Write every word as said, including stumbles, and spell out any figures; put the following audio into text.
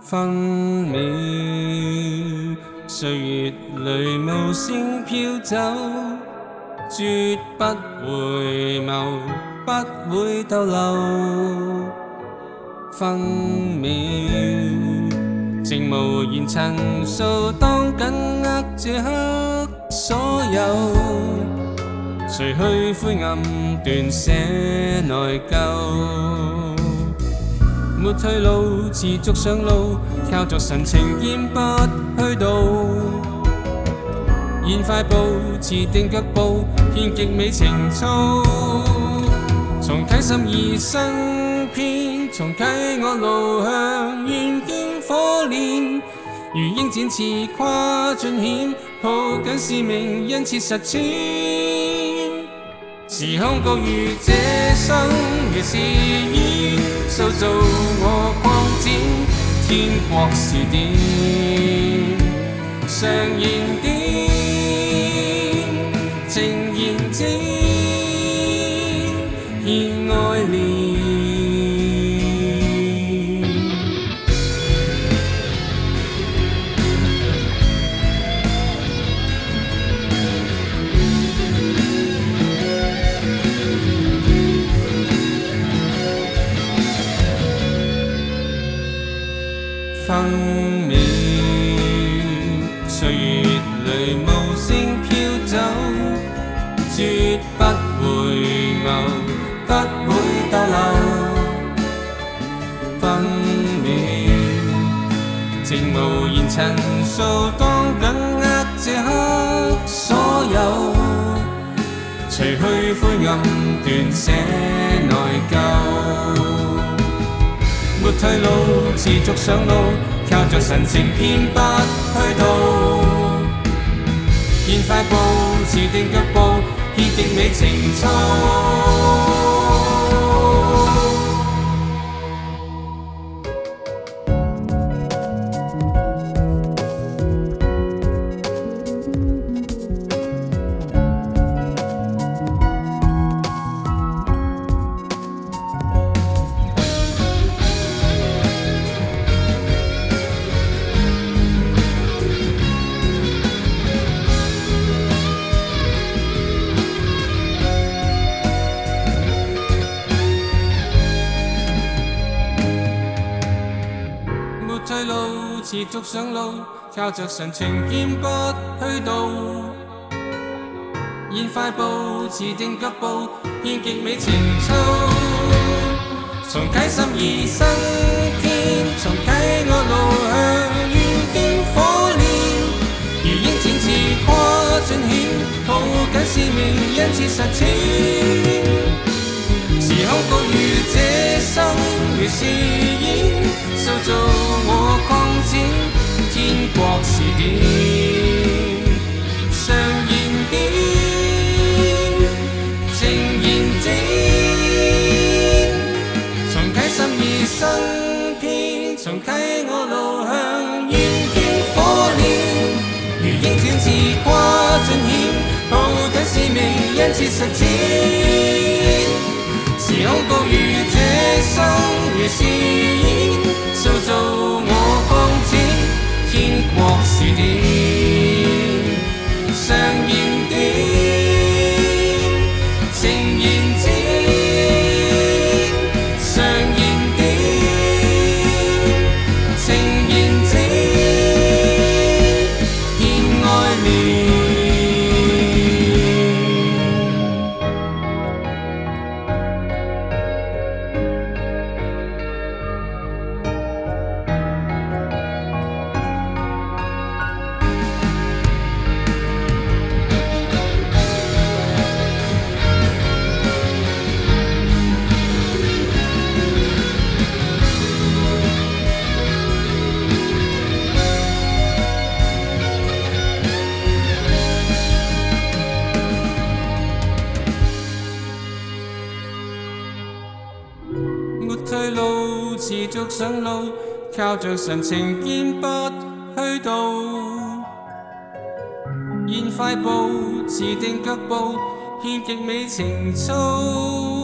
分秒，歲月裏無聲飄走，絕不回眸，不會逗留。分秒，靜無言陳述，當緊握這刻所有，除去灰暗，斷捨內疚。沒退路，持續上路，靠着神情堅不虛度。現快步，持定腳步，獻極美情操。從啟心而生篇，從啟我路向願見火煉。如鷹展翅跨盡險，抱緊使命，因切實踐。時空各如這生如是演，塑造我擴展，天國是點，常燃點，情燃展，獻愛憐。分秒，歲月裏無聲飄走，絕不回眸，不會逗留。分秒，靜無言陳述，當緊握這刻所有，除去灰暗，斷捨內疚。沒退路，持續上路，靠着神情偏不虛度。現快步，持定腳步，獻極美情操。退路，持續上路，靠着神情堅不虛度。現快步，持定腳步，獻極美情操。從啟心而生篇，從啟我路向願見火煉。如鷹展翅跨盡險，抱緊使命，因切實踐。時空各如這生如是演，塑造我擴展，天國是點，常燃點，情燃展。從啟心而生篇，從啟我路向願見火煉。如鷹展翅跨盡險，抱緊使命，因切實踐。時空各如這生如是演，塑造我擴展，天國是點，常燃點，情燃展，常燃點，情燃展，獻愛憐。沒退路，持續上路，靠着神情堅不虛度。現快步，持定腳步，獻極美情操。